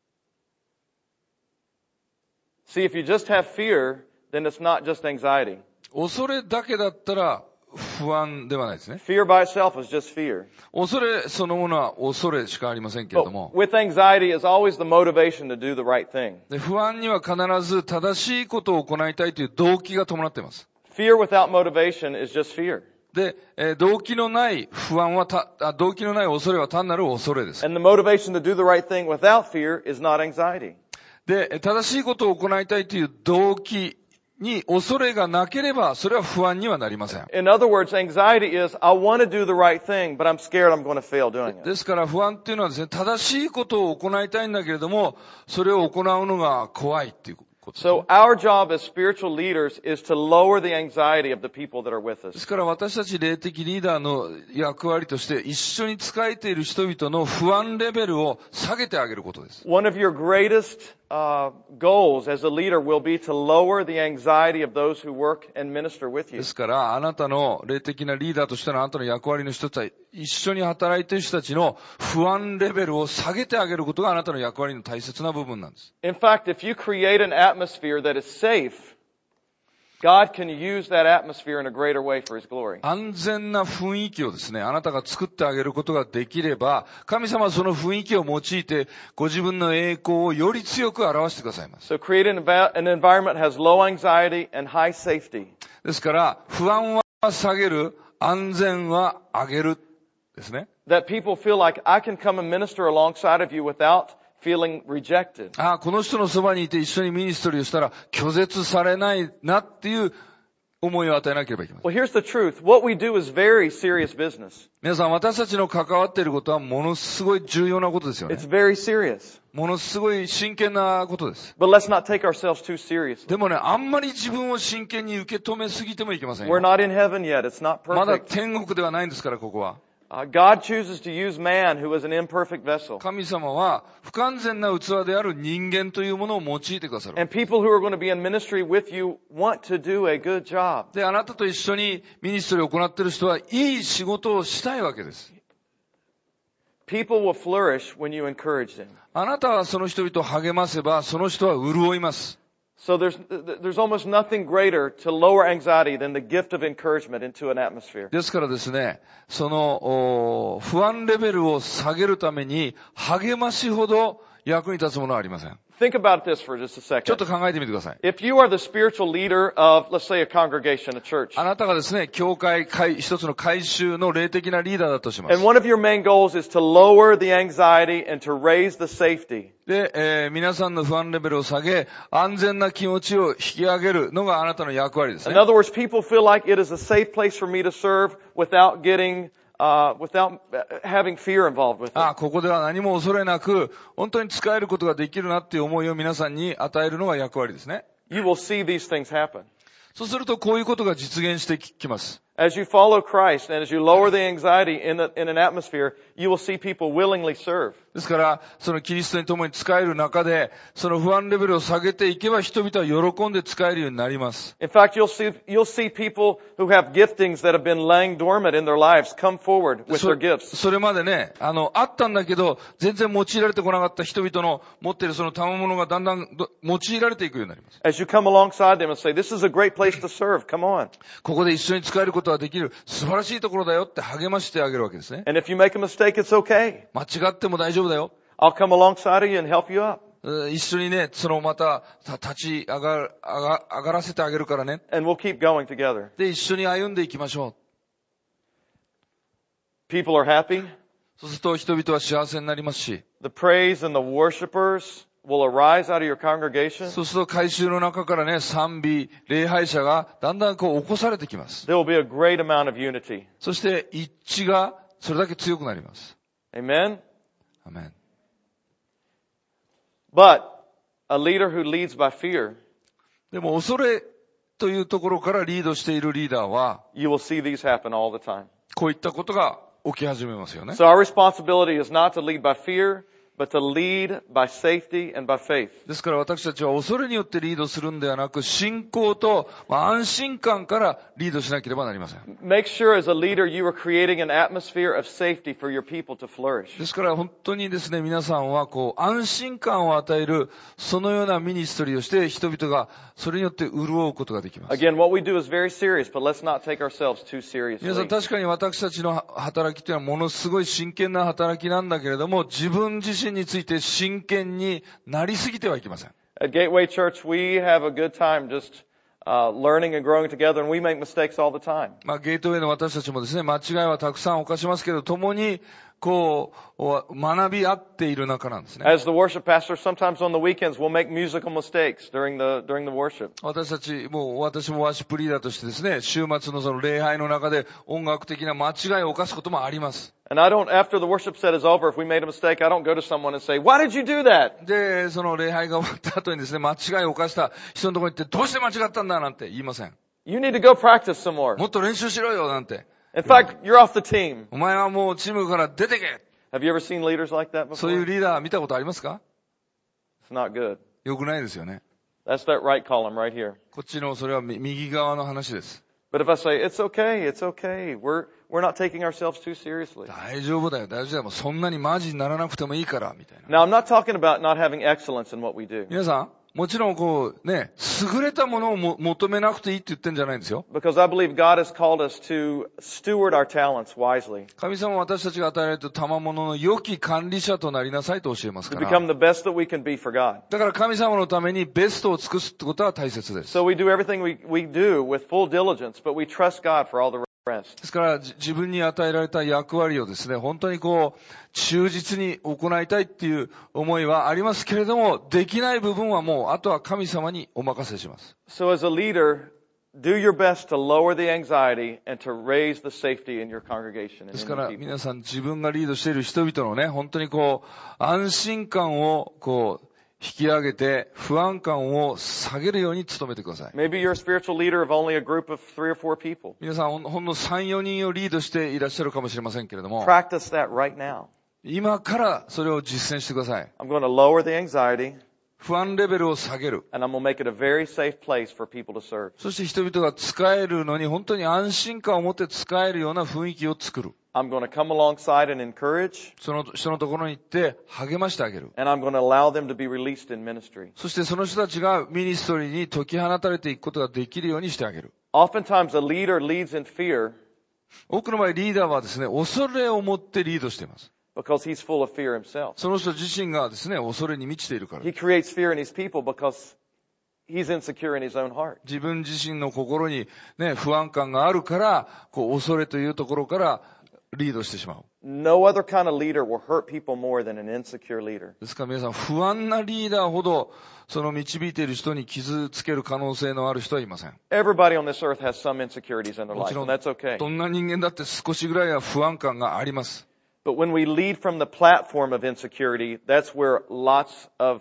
B: See, if you just have fear, then it's not just anxiety.
A: 恐れだけだったら不安ではないですね。
B: Fear by itself is just fear.
A: 恐れそのものは恐れしかありませんけれど
B: But
A: も、
B: with anxiety is always the motivation to do the right thing.
A: で不安には必ず正しいことを行いたいという動機が伴っています。
B: Fear without motivation is just fear.
A: で、動機のない不安は動機のない恐れは単なる恐れです。
B: And the motivation to do the right thing without fear is not anxiety.
A: で、正しいことを行いたいという動機に恐れがなければ、それは不安にはなりません。
B: In other words, anxiety is, I want to do the right thing, but I'm scared I'm going to fail doing it.
A: ですから不安っていうのはですね、正しいことを行いたいんだけれども、それを行うのが怖いっていうことですね。
B: So our job as spiritual leaders is to lower the anxiety of the people that are with
A: で
B: us.
A: すから私たち霊的リーダーの役割として一緒に仕えている人々の不安レベルを下げてあげることです。
B: One of your greatest goals as a leader will be to lower the anxiety of those who work and minister with
A: で
B: you.
A: すからあなたの霊的なリーダーとしてのあなたの役割の人たち、一緒に働いている人たちの不安レベルを下げてあげることがあなたの役割の大切な部分なんです。
B: In fact, if you create an atmosphere that is safe, God can use that atmosphere in a greater way for His glory.
A: 安全な雰囲気をですね、あなたが作ってあげることができれば、神様はその雰囲気を用いて、ご自分の栄光をより強く表してくださいます。
B: So create an environment that has low anxiety and high safety.
A: ですから、不安は下げる、安全は上げるですね。
B: That people feel like I can come and minister alongside of you without feeling rejected.
A: この人のそばにいて一緒にミニストリーをしたら拒絶されないなっていう思いを与えなければいけません。
B: Well, here's the truth. What we do is very serious business.
A: 皆さん、私たちの関わっていることはものすごい重要なことですよね。
B: It's very serious.
A: ものすごい真剣なことです。
B: But let's not take ourselves too seriously.
A: でもね、あんまり自分を真剣に受け止めすぎてもいけませんよ。
B: We're not in heaven yet. It's not
A: まだ
B: perfect.
A: 天国ではないんですから、ここは。
B: God chooses to use man who is an imperfect vessel.
A: 神様は不完全な器である人間というものを用いてくださる。
B: And people who are going to be in ministry with you want to do a good job.
A: で、あなたと一緒にミニストリーを行っている人はいい仕事をしたいわけです。
B: People will flourish when you encourage them.
A: あなたはその人々を励ませば、その人は潤います。
B: So there's almost nothing greater to lower anxiety than the gift of encouragement into an atmosphere.
A: ですからですね、その不安レベルを下げるために励ましほど役に立つものはありません。
B: Think about this for just a
A: ちょっ
B: second.
A: と考えてみてください。
B: If you are the spiritual leader of, let's say, a congregation, a church,
A: あなたがですね、教会、一つの会衆の霊的なリーダーだとします
B: and。one of your main goals is to lower the anxiety and to raise the safety,
A: で、皆さんの不安レベルを下げ、安全な気持ちを引き上げるのがあなたの役割ですね
B: in。other words, people feel like it is a safe place for me to serve without having fear involved with it.
A: ここでは何も恐れなく、本当に使えることができるなっていう思いを皆さんに与えるのが役割ですね。
B: You will see these things happen.
A: そうするとこういうことが実現してきます。
B: As you follow Christ and as you lower the anxiety in an atmosphere, you will see people willingly serve.
A: ですから、そのキリストに共に使える中で、その不安レベルを下げていけば人々は喜んで使えるようになります。
B: In fact, you'll see people who have giftings that have been laying dormant in their lives come forward with their gifts.
A: それまでね、あったんだけど、全然用いられてこなかった人々の持っているその賜物がだんだん用いられていくようになります。
B: As you come alongside them and say, this is a great place to serve, come on.
A: ここで一緒に使えることができる素晴らしいところだよって励ましてあげるわけですね。
B: And if you make a mistake, it's okay.
A: 間違っても大丈夫だよ。
B: I'll come alongside of you and help you up.
A: 一緒にね、そのまた立ち上がらせてあげるからね。
B: And we'll keep going together.
A: で、一緒に歩んでいきましょ
B: People are happy.
A: う。そうすると人々は幸せになりますし、
B: The praise and the worshipers will arise out of your congregation.
A: そうすると改宗の中からね、賛美、礼拝者がだんだん起こされてきます。
B: There will be a great amount of unity.
A: そして一致がそれだけ強くなります。
B: Amen?
A: アメン。
B: But a leader who leads by fear,
A: でも恐れというところからリードしているリーダーは、
B: you will see these happen all the time.
A: こういったことが起き始めますよね。
B: So our responsibility is not to lead by fear, but to lead by safety and by faith.
A: ですから私たちは恐れによってリードするんではなく、信仰と安心感からリードしなければなりません。
B: Make sure as a leader you are creating an atmosphere of safety for your people to flourish.
A: ですから本当にですね、皆さんは安心感を与える、そのようなミニストリーをして人々がそれによって潤うことができます。
B: Again, what we do is very serious, but let's not take ourselves too
A: 皆さん
B: seriously.
A: 確かに私たちの働きというのはものすごい真剣な働きなんだけれども、自分自身について真剣になりすぎてはいけません。
B: At Gateway Church, we have a good time just learning and growing together, and we make mistakes all the time.
A: ゲートウェイの私たちもですね、間違いはたくさん犯しますけど、共に学び合っている中なんですね。
B: As the worship pastor, sometimes on the weekends we'll make musical mistakes during the worship.
A: 私もワーシップリーダーとしてですね、週末のその礼拝の中で音楽的な間違いを犯すこともあります。
B: And after the worship set is over, if we made a mistake, I don't go to someone and say, "Why did you do that?"
A: で、その礼拝が終わった後にですね、間違いを犯した人のところに行って、どうして間違ったんだなんて言いません。
B: You need to go practice some more.
A: もっと練習しろよなんて。
B: In fact, you're off the team.
A: お前はもうチームから出てけ。
B: Have you ever seen leaders like that
A: そういう
B: before?
A: リーダー見たことありますか？
B: It's not good.
A: 良くないですよね。
B: That's that right column right here.
A: こっちのそれは右側の話です。
B: But if I say, "It's okay, it's okay. We're not taking ourselves too seriously."
A: 大丈夫だよ、大丈夫だよ。もうそんなにマジにならなくてもいいから、みたいな。
B: Now, I'm not talking about not having excellence in what we do.
A: 皆さん、 もちろんこうね、優れたものを求めなくていいって言ってんじゃないんですよ。
B: Because I believe God has called us to steward our talents wisely.
A: 神様は私たちが与えられた賜物の良き管理者となりなさいと教えます
B: To
A: から。
B: become the best that we can be for God.
A: だから神様のためにベストを尽くすってことは大切です。
B: So we do everything we do with full diligence, but we trust God for all the rest.
A: ですから自分に与えられた役割をですね、本当にこう忠実に行いたいっていう思いはありますけれども、できない部分はもうあとは神様にお任せします。
B: So as a leader, do your best to lower the anxiety and to raise the safety in your congregation and
A: です
B: in
A: から
B: your people.
A: 皆さん自分がリードしている人々のね、本当にこう安心感をこう引き上げて不安感を下げるように努めてください。
B: Maybe you're a spiritual leader of only a group of 3 or 4 people.
A: 皆さんほんの3、4人をリードしていらっしゃるかもしれませんけれども、
B: Practice that right now.
A: 今からそれを実践してください。
B: I'm going to lower the anxiety,
A: 不安レベルを下げる。
B: and I'm going to make it a very safe place for people to serve.
A: そして人々が使えるのに本当に安心感を持って使えるような雰囲気を作る。
B: I'm going to come alongside and encourage,
A: その人のところに行って励ましてあげる。
B: and I'm going to allow them to be released in ministry.
A: そしてその人たちがミニストリーに解き放たれていくことができるようにしてあげる。
B: Oftentimes, a leader leads in fear
A: 多くの場合リーダーはですね、恐れを持ってリードしています。
B: because he's full of fear himself.
A: その人自身がですね、恐れに満ちているから。
B: He creates fear in his people because he's insecure in his own heart.
A: 自分自身の心にね、不安感があるから、こう恐れというところからリードしてしまう。
B: No other kind of leader will hurt people more than an insecure leader.
A: ですから皆さん、不安なリーダーほど、その導いている人に傷つける可能性のある人はいません。
B: Everybody on this earth has some insecurities in their
A: も
B: life,
A: ちろ
B: and
A: ん、
B: that's okay.
A: どんな人間だって少しぐらいは不安感があります。
B: But when we lead from the platform of insecurity, that's where lots of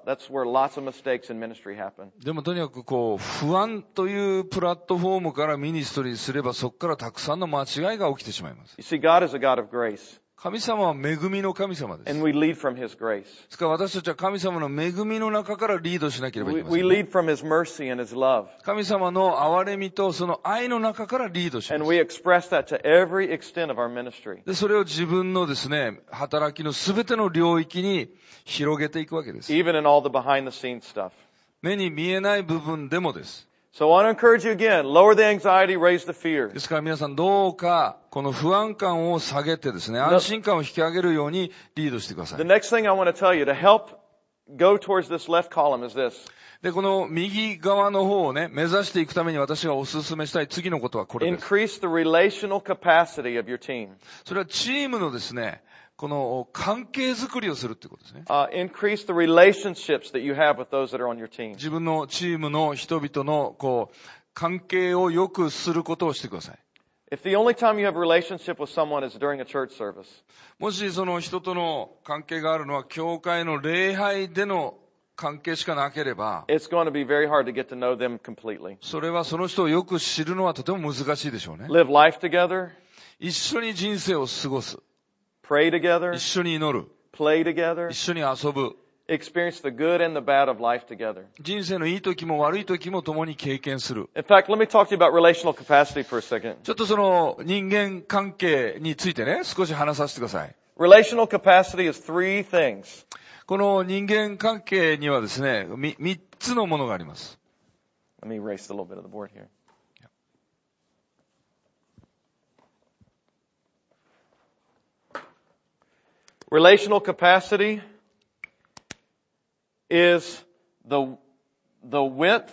B: mistakes in ministry happen.
A: でもとにかくこう、不安というプラットフォームからミニストリーすれば、そこからたくさんの間違いが起きてしまいます。
B: You see, God is a God of grace,
A: 神様は恵みの神様です。
B: and we lead from His grace.
A: ですから私たちは神様の恵みの中からリードしなければいけませ
B: We
A: ん。
B: lead from His mercy and His love,
A: 神様の憐れみとその愛の中からリードしま
B: and
A: す。
B: we express that to every extent of our ministry.
A: で、それを自分のですね、働きのすべての領域に広げていくわけです。
B: Even in all the behind-the-scenes stuff.
A: 目に見えない部分でもです。
B: So I want to encourage you again, lower the anxiety, raise the fear.
A: ですから皆さんどうかこの不安感を下げてですね、安心感を引き上げるようにリードしてくださ
B: The
A: い。
B: next thing I want to tell you to help go towards this left column is this.
A: で、この右側の方をね、目指していくために私がお勧めしたい次のことはこれです。
B: Increase the relational capacity of your team.
A: それはチームのですね、この関係づくりをするってことですね。
B: Increase the relationships that you have with those that are on your team.
A: 自分のチームの人々のこう関係を良くすることをしてください。
B: If the only time you have a relationship with someone is during a church service,
A: もしその人との関係があるのは教会の礼拝での関係しかなければ、
B: it's going to be very hard to get to know them completely.
A: それはその人をよく知るのはとても難しいでしょうね。
B: Live life together,
A: 一緒に人生を過ごす。
B: pray together,
A: 一緒に祈る。
B: play together,
A: 一緒に遊ぶ。
B: experience the good and the bad of life together.
A: 人生のいい時も悪い時も共に経験する。
B: In fact, let me talk to you about relational capacity for a second.
A: ちょっとその人間関係についてね、少し話させてください。
B: Relational capacity is 3 things.
A: この人間関係にはですね、3つのものがあります。
B: Let me erase a little bit of the board here. Relational capacity is the width,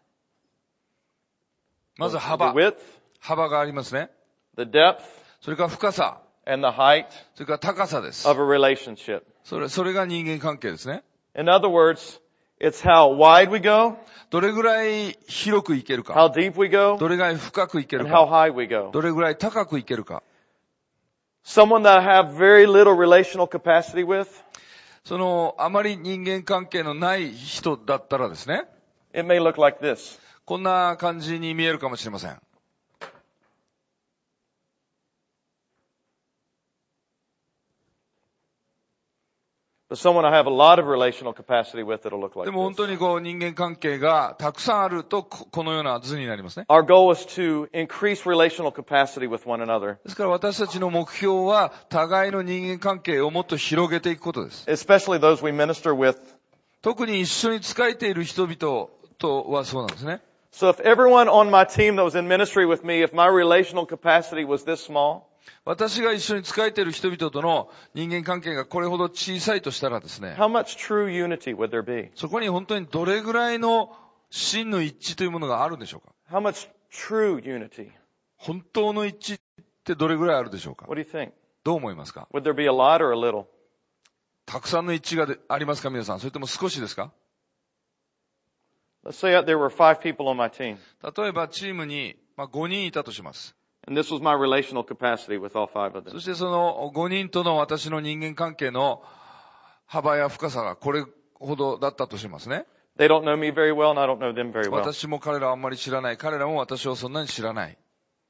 A: まず
B: the
A: 幅。
B: width,
A: 幅がありますね。
B: the depth,
A: それから深さ。
B: and the height
A: それから高さです。
B: of a relationship.
A: それが人間関係ですね。
B: In other words, it's how wide we go,
A: どれぐらい広くいけるか。
B: how deep we go,
A: どれぐらい深くいける
B: and how
A: か。
B: high we go.
A: どれぐらい高くいけるか。
B: Someone that I have very little relational capacity with,
A: その、あまり人間関係のない人だったらですね、
B: it may look like this.
A: こんな感じに見えるかもしれません。
B: But someone I have a lot of relational capacity with, it'll look like
A: でも本
B: this.
A: 当にこう人間関係がたくさんあるとこのような図になりますね。
B: Our goal is to increase relational capacity with one another,
A: ですから私たちの目標は互いの人間関係をもっと広げていくことです。
B: especially those we minister with
A: 特に一緒に仕えている人々とはそうなんですね。
B: So if everyone on my team that was in ministry with me, if my relational capacity was this small,
A: 私が一緒に仕えている人々との人間関係がこれほど小さいとしたらですね、
B: how much true unity would there be?
A: そこに本当にどれぐらいの真の一致というものがあるんでしょうか。
B: How much true unity?
A: 本当の一致ってどれぐらいあるでしょうか。
B: What do you think?
A: どう思いますか。
B: Would there be a lot or a little?
A: たくさんの一致がありますか皆さん。それとも少しですか。
B: Let's say there were 5 people on my team,
A: 例えばチームに5人いたとします。
B: and this was my relational capacity with all 5 of them.
A: そしてその5人との私の人間関係の幅や深さがこれほどだったとしますね。
B: They don't know me very well, and I don't know them very well.
A: 私も彼らはあんまり知らない。彼らも私をそんなに知らない。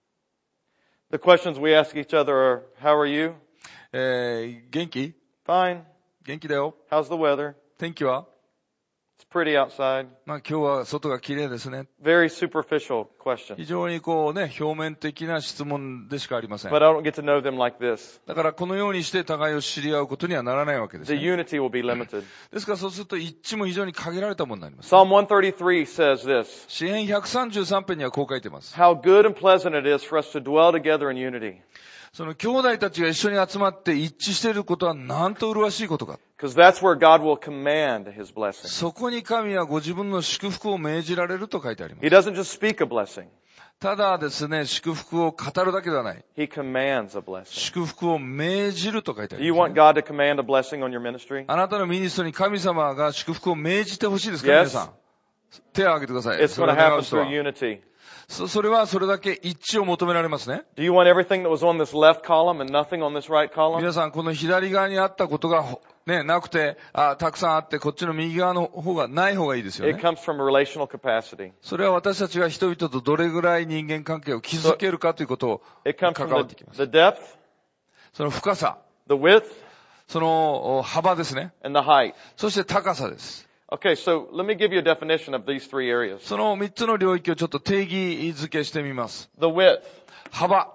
B: The questions we ask each other are, how are you?
A: 元気？
B: Fine.
A: 元気だよ。
B: How's the weather?
A: 天気は？
B: It's pretty outside.
A: 今日は外が綺麗ですね。
B: Very superficial questions.
A: 非常に表面的な質問でしかありません。
B: But I don't get to know them like this.
A: だからこのようにして互いを知り合うことにはならないわけです
B: The
A: ね。
B: unity will be limited.
A: ですからそうすると一致も非常に限られたものになります。
B: Psalm 133 says this,
A: 詩編133編にはこう書いています。
B: how good and pleasant it is for us to dwell together in unity.
A: その兄弟たちが一緒に集まって一致していることはなんと麗しいことか。
B: Because that's where God will command His blessing.
A: そこに神はご自分の祝福を命じられると書いてあります。
B: He doesn't just speak a blessing.
A: ただですね、祝福を語るだけではない。
B: He commands a blessing.
A: 祝福を命じると書いてあ
B: Do
A: り
B: you
A: ます、
B: want
A: ね。
B: God to command a blessing on your ministry?
A: あなたのミニストに神様が祝福を命じてほしいですか、
B: Yes.
A: 皆さん。手を挙げてください。
B: It's
A: そ
B: going
A: れ
B: to
A: を願う
B: happen
A: 人は
B: through unity.
A: それはそれだけ一致を求められますね。
B: Do you want everything that was on this left column and nothing on this right column?
A: 皆さん、この左側にあったことが、ね、なくて、たくさんあって、こっちの右側の方がない方がいいですよ
B: It
A: ね。
B: comes from relational capacity.
A: それは私たちが人々とどれぐらい人間関係を築けるかということを
B: It comes
A: 関
B: from
A: わってきます。
B: the depth,
A: その深さ、
B: the width,
A: その幅ですね。
B: and the height.
A: そして高さです。
B: Okay, so let me give you a definition of these 3 areas.
A: その3つの領域をちょっと定義づけしてみます。
B: The width.
A: 幅。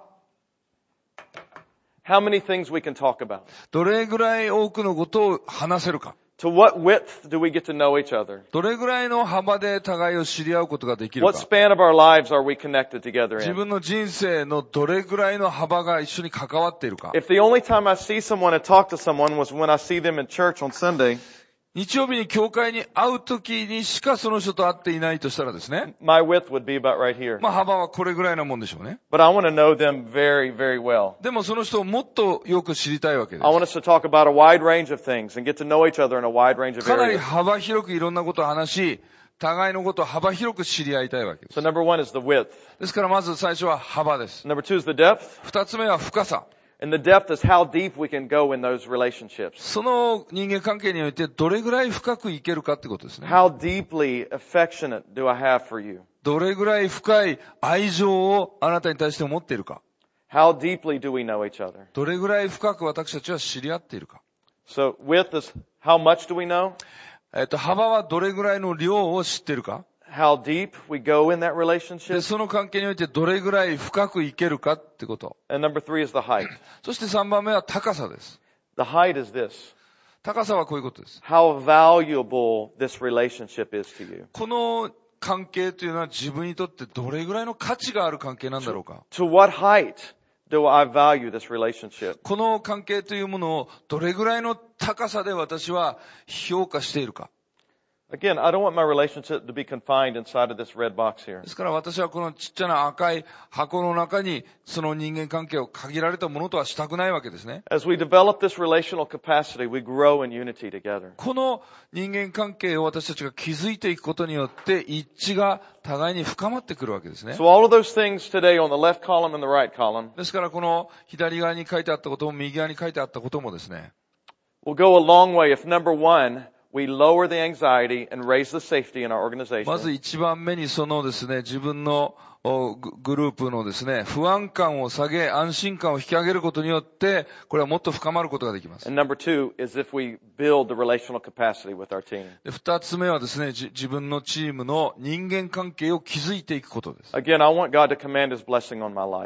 B: How many things we can talk about?
A: どれぐらい多くのことを話せるか。
B: To what width do we get to know each other?
A: どれぐらいの幅で互いを知り合うことができる
B: What
A: か。
B: span of our lives are we connected together
A: 自
B: in?
A: 分の人生のどれぐらいの幅が一緒に関わっているか。
B: If the only time I see someone and talk to someone was when I see them in church on Sunday,
A: 日曜日に教会に会うときにしかその人と会っていないとしたらですね。
B: my width would be about right here.
A: 幅はこれぐらいなもんでしょうね。
B: But I want to know them very, very well.
A: でもその人をもっとよく知りたいわけで
B: I want us to talk about a wide range of things and get to know each other in a wide range
A: す。
B: of
A: かなり
B: areas.
A: 幅広くいろんなことを話し、互いのことを幅広く知り合いたいわけです。
B: So number 1 is the width.
A: ですからまず最初は幅です。
B: Number 2 is the depth.
A: 二つ目は深さ。
B: And the depth is how deep we can go in those relationships.
A: その人間関係においてどれぐらい深くいけるかってことですね。
B: How deeply affectionate do I have for you?
A: どれぐらい深い愛情をあなたに対して持っているか。
B: How deeply do we know each other?
A: どれぐらい深く私たちは知り合っているか。
B: So width is how much do we know?
A: 幅はどれぐらいの量を知っているか。
B: How deep we go in that
A: で、
B: relationship.
A: その関係においてどれぐらい深くいけるかってこと。
B: And number 3 is the height.
A: そして3番目は高さです。
B: The height is this.
A: 高さはこういうことです。
B: How valuable this relationship is to you.
A: この関係というのは自分にとってどれぐらいの価値がある関係なんだろうか。
B: To what height do I value this relationship?
A: この関係というものをどれぐらいの高さで私は評価しているか。
B: Again, I don't want my relationship to be confined inside of this red box here.
A: ですから私はこのちっちゃな赤い箱の中にその人間関係を限られたものとはしたくないわけですね。
B: As we develop this relational capacity, we grow in unity together.
A: この人間関係を私たちが築いていくことによって一致が互いに深まってくるわけですね。
B: So all of those things today on the left column and the right column
A: ですからこの左側に書いてあったことも右側に書いてあったこともですね、
B: will go a long way if number 1, we lower the anxiety and raise the safety in our
A: まず
B: organization.
A: 一番目にそのですね、自分のグループのですね、不安感を下げ、安心感を引き上げることによって、これはもっと深まることができます。
B: And number 2 is if we build the relational capacity with our team.
A: で、二つ目はですね、自分のチームの人間関係を築いていくことです。
B: Again, I want God to command His blessing on my life.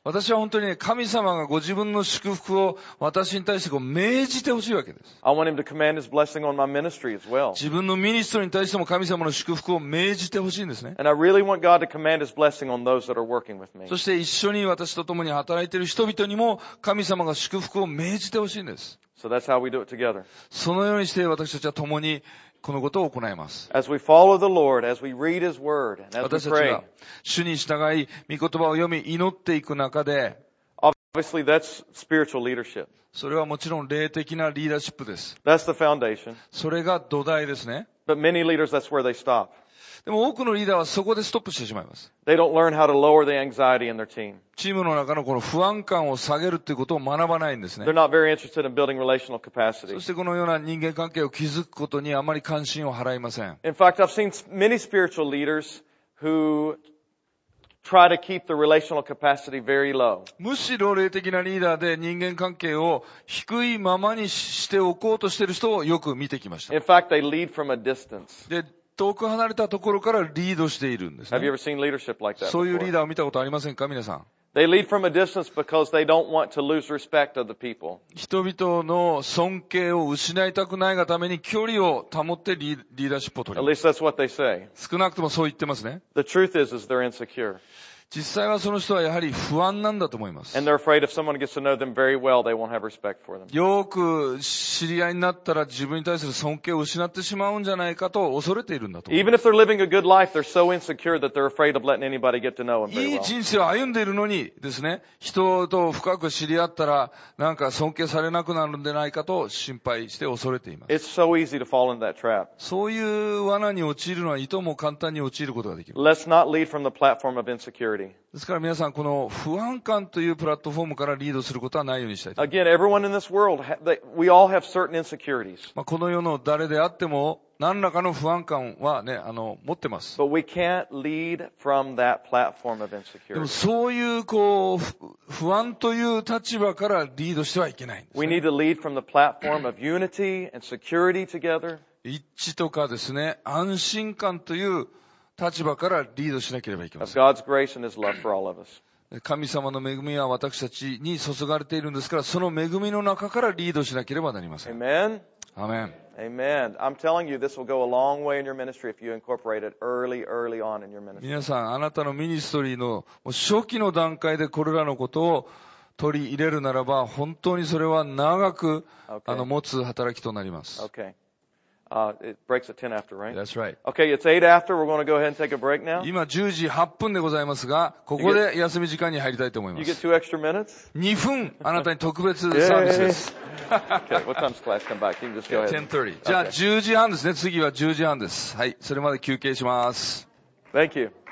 A: 私は本当にね、神様がご自分の祝福を私に対してこう命じてほしいわけです。
B: I want him to command his blessing on my ministry as well.
A: 自分のミニストリーに対しても神様の祝福を命じてほしいんですね。
B: And I really want God to command his blessing on those that are working with me.
A: そして一緒に私と共に働いている人々にも神様が祝福を命じてほしいんです。
B: So that's how we do it together.
A: そのようにして私たちは共にこのことを行います。
B: As we follow the Lord, as we read his word, and as we
A: 私たち
B: pray.
A: が主に従い、御言葉を読み、祈っていく中で、
B: Obviously, that's spiritual leadership.
A: それはもちろん霊的なリーダーシップです。
B: That's the foundation.
A: それが土台ですね。
B: But many leaders, that's where they stop.
A: でも多くのリーダーはそこでストップしてしまいます。
B: They don't learn how to lower the anxiety in their team.
A: チームの中のこの不安感を下げるということを学ばないんですね
B: They're。not very interested in building relational
A: そ
B: capacity.
A: してこのような人間関係を築くことにあまり関心を払いません。
B: In fact, I've seen many spiritual leaders who try to keep the relational capacity very low.
A: むしろ霊的なリーダーで人間関係を低いままにしておこうとしている人をよく見てきました。
B: In fact, they lead from a distance.
A: で、遠く離れたところからリードしているんです
B: Have you
A: ね。
B: ever seen leadership like that
A: そういうリー
B: before?
A: ダーを見たことありませんか皆さん。
B: They lead from a distance because they don't want to lose respect of the people.
A: 人々の尊敬を失いたくないがために距離を保ってリーダーシップを取
B: At
A: ります。
B: least that's what they say.
A: 少なくともそう言ってますね。
B: The truth is they're insecure.
A: 実際はその人はやはり不安なんだと思います。
B: And they're afraid if someone gets to know them very well, they won't have respect for them.
A: よく知り合いになったら自分に対する尊敬を失ってしまうんじゃないかと恐れているんだと思いま
B: Even if they're living a good life, they're so insecure that they're afraid of letting anybody get to know them
A: す。い
B: very
A: い
B: well.
A: 人生を歩んでいるのにですね、人と深く知り合ったらなんか尊敬されなくなるんじゃないかと心配して恐れています。
B: It's so easy to fall into that trap.
A: そういう罠に陥るのはいとも簡単に陥ることができる。
B: Let's not lead from the platform of insecurity.
A: ですから皆さんこの不安感というプラットフォームからリードすることはないようにしたいと。
B: Again, everyone in this world, we all have certain insecurities.
A: この世の誰であっても何らかの不安感はね、持ってます。
B: But we can't lead from that platform of
A: でも
B: insecurity.
A: そういう不安という立場からリードしてはいけないんです
B: We
A: ね。
B: need to lead from the platform of unity and security together.
A: 一致とかですね、安心感という立場からリードしなければいけま
B: Of
A: せん。
B: God's grace and His love for all of us.
A: 神様の恵みは私たちに注がれているんですから、その恵みの中からリードしなければなりません。
B: Amen?
A: アメン。
B: Amen. I'm telling you, this will go a long way in your ministry if you incorporate it early on in your ministry.
A: 皆さん、あなたのミニストリーの初期の段階でこれらのことを取り入れるならば、本当にそれは長く、
B: Okay.
A: 持つ働きとなります。
B: Okay. It breaks at 10 after, right?
A: That's right.
B: Okay, it's 8 after. We're going to go ahead and take a break now.
A: 今10時8分でございますが、ここで休み時間に入りたいと思いま
B: You get
A: す。
B: 2 extra minutes?
A: 2分、あなたに特別サービスです。
B: Okay, what time's class come back? You can just go ahead.
A: 10:30。じゃあ10時半ですね。次は10時半です。はい。それまで休憩します。
B: Thank you.